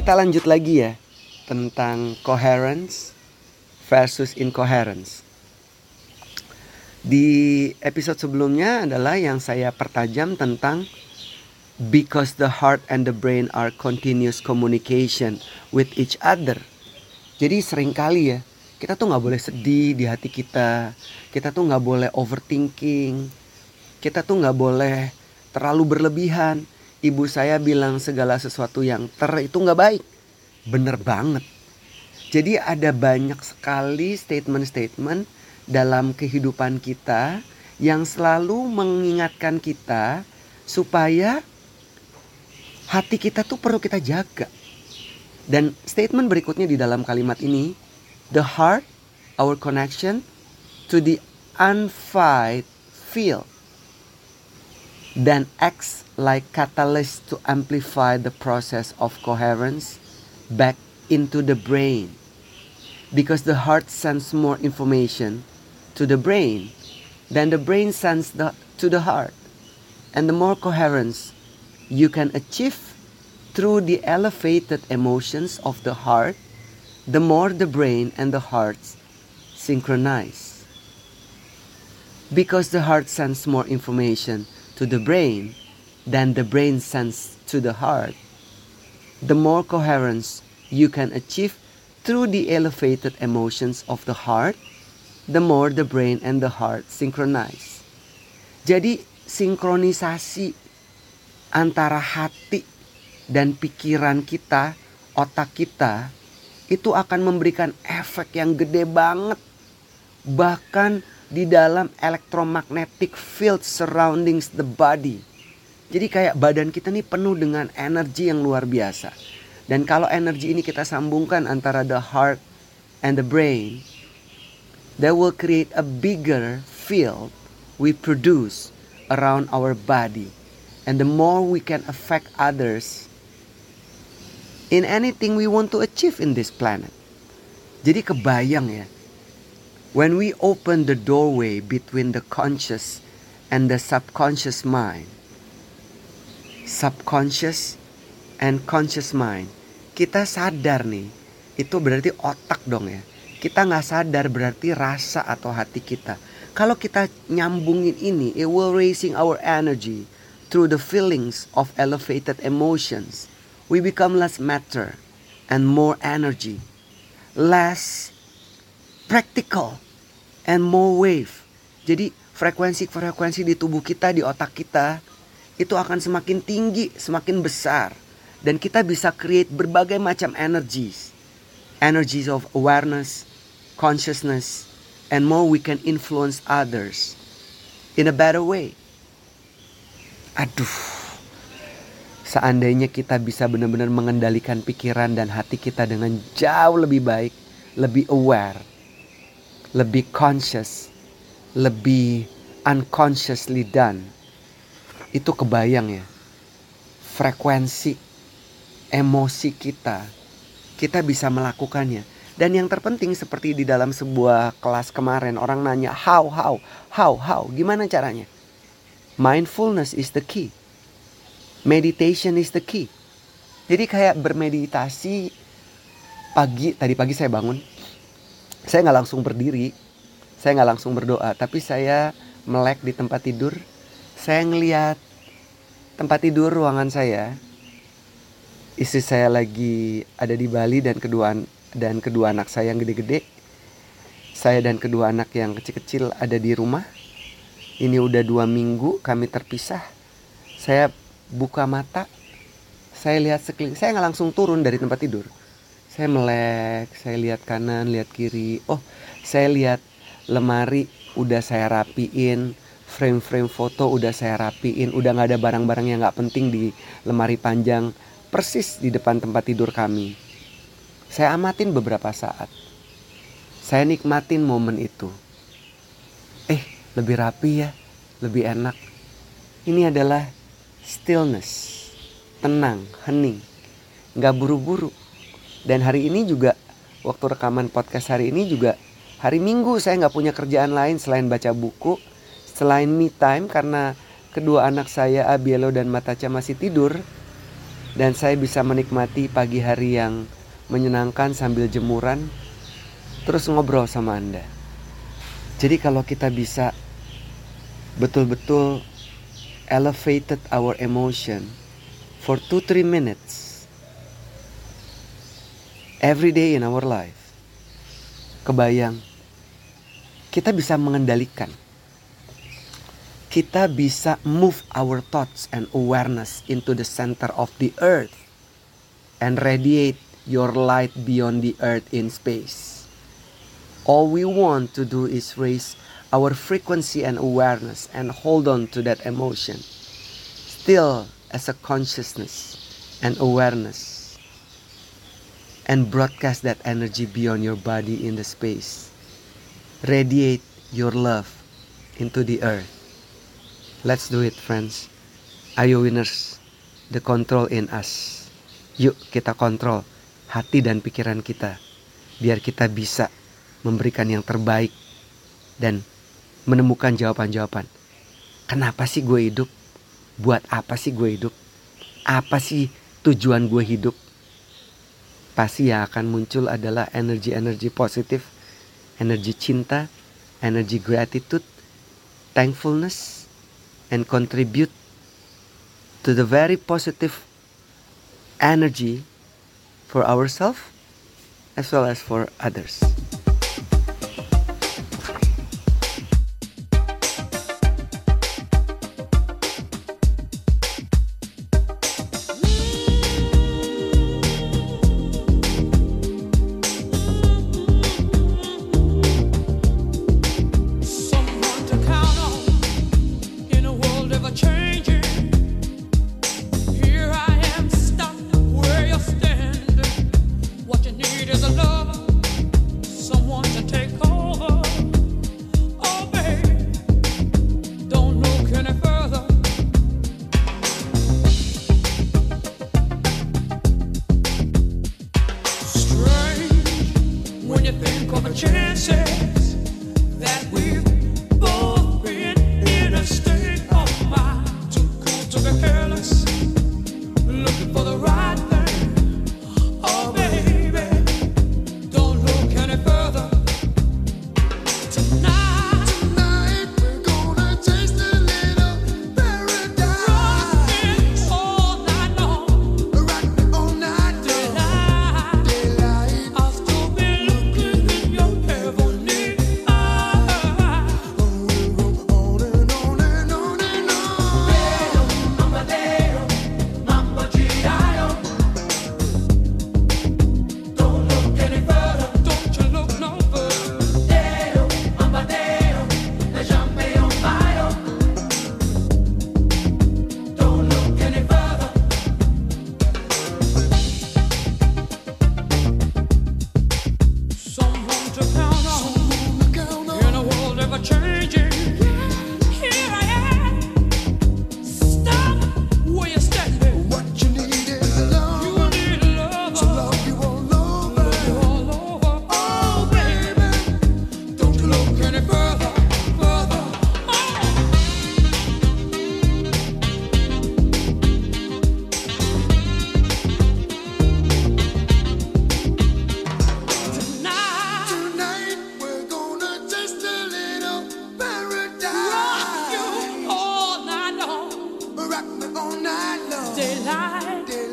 Kita lanjut lagi ya tentang coherence versus incoherence. Di episode sebelumnya adalah yang saya pertajam tentang because the heart and the brain are continuous communication with each other. Jadi seringkali ya, kita tuh gak boleh sedih di hati kita. Kita tuh gak boleh overthinking. Kita tuh gak boleh terlalu berlebihan. Ibu saya bilang segala sesuatu yang itu gak baik. Bener banget. Jadi ada banyak sekali statement-statement dalam kehidupan kita yang selalu mengingatkan kita supaya hati kita tuh perlu kita jaga. Dan statement berikutnya di dalam kalimat ini, the heart, our connection to the unfied field, then acts like catalyst to amplify the process of coherence back into the brain. Because the heart sends more information to the brain than the brain sends to the heart. And the more coherence you can achieve through the elevated emotions of the heart, the more the brain and the heart synchronize. Because the heart sends more information to the brain than the brain sends to the heart, the more coherence you can achieve through the elevated emotions of the heart, the more the brain and the heart synchronize. Jadi sinkronisasi antara hati dan pikiran kita, otak kita, itu akan memberikan efek yang gede banget. Bahkan di dalam electromagnetic field surroundings the body. Jadi kayak badan kita nih penuh dengan energi yang luar biasa. Dan kalau energi ini kita sambungkan antara the heart and the brain, that will create a bigger field we produce around our body. And the more we can affect others in anything we want to achieve in this planet. Jadi kebayang ya, when we open the doorway between the conscious and the subconscious mind, subconscious and conscious mind, kita sadar nih, itu berarti otak dong ya. Kita gak sadar berarti rasa atau hati kita. Kalau kita nyambungin ini, it will raising our energy through the feelings of elevated emotions. We become less matter and more energy, less practical and more wave. Jadi frekuensi-frekuensi di tubuh kita, di otak kita, itu akan semakin tinggi, semakin besar. Dan kita bisa create berbagai macam energies. Energies of awareness, consciousness, and more we can influence others in a better way. Aduh, seandainya kita bisa benar-benar mengendalikan pikiran dan hati kita dengan jauh lebih baik, lebih aware, lebih conscious, lebih unconsciously done. Itu kebayang ya, frekuensi emosi kita bisa melakukannya. Dan yang terpenting seperti di dalam sebuah kelas kemarin, orang nanya how, gimana caranya? Mindfulness is the key. Meditation is the key. Jadi kayak bermeditasi tadi pagi saya bangun. Saya gak langsung berdiri, saya gak langsung berdoa, tapi saya melek di tempat tidur. Saya ngeliat tempat tidur ruangan saya. Istri saya lagi ada di Bali dan kedua anak saya yang gede-gede. Saya dan kedua anak yang kecil-kecil ada di rumah. Ini udah 2 minggu kami terpisah. Saya buka mata, saya lihat sekeliling. Saya gak langsung turun dari tempat tidur. Saya melek, saya lihat kanan, lihat kiri. Oh, saya lihat lemari udah saya rapiin. Frame-frame foto udah saya rapiin. Udah gak ada barang-barang yang gak penting di lemari panjang persis di depan tempat tidur kami. Saya amatin beberapa saat. Saya nikmatin momen itu. Lebih rapi ya, lebih enak. Ini adalah stillness, tenang, hening, gak buru-buru. Dan hari ini juga, waktu rekaman podcast hari ini juga hari Minggu, saya gak punya kerjaan lain selain baca buku, selain me time, karena kedua anak saya Abielo dan Matacha masih tidur. Dan saya bisa menikmati pagi hari yang menyenangkan sambil jemuran, terus ngobrol sama Anda. Jadi kalau kita bisa betul-betul elevated our emotion for 2-3 minutes every day in our life, kebayang kita bisa mengendalikan, kita bisa move our thoughts and awareness into the center of the earth and radiate your light beyond the earth in space. All we want to do is raise our frequency and awareness and hold on to that emotion still as a consciousness and awareness, and broadcast that energy beyond your body in the space. Radiate your love into the earth. Let's do it, friends. Ayo winners, the control in us. Yuk kita kontrol hati dan pikiran kita, biar kita bisa memberikan yang terbaik dan menemukan jawaban-jawaban. Kenapa sih gue hidup? Buat apa sih gue hidup? Apa sih tujuan gue hidup? Pasti yang akan muncul adalah energi-energi positif, energi cinta, energi gratitude, thankfulness, and contribute to the very positive energy for ourselves as well as for others. Chances that we've both been in a state of mind, too cool to be careless, looking for the right thing. Oh baby, don't look any further. Tonight we're gonna taste a little paradise. Rockin' all night long, rockin' all night long. Daylight, I'll still be looking in your heavenly eyes. We'll go on and on and on and on. Dedo, mamma G.I.O. Don't look any further, don't you look no further. Dedo, lasciami un bacio. Don't look any further. Someone to count on in a world ever changing. Here I am. Stop where you're standing. What you need is love. You need love. To love you all over. You all over. Oh baby, don't you look any further, further. Tonight we're gonna taste a little paradise. Rock you all night long. Rock me all night long. Daylight.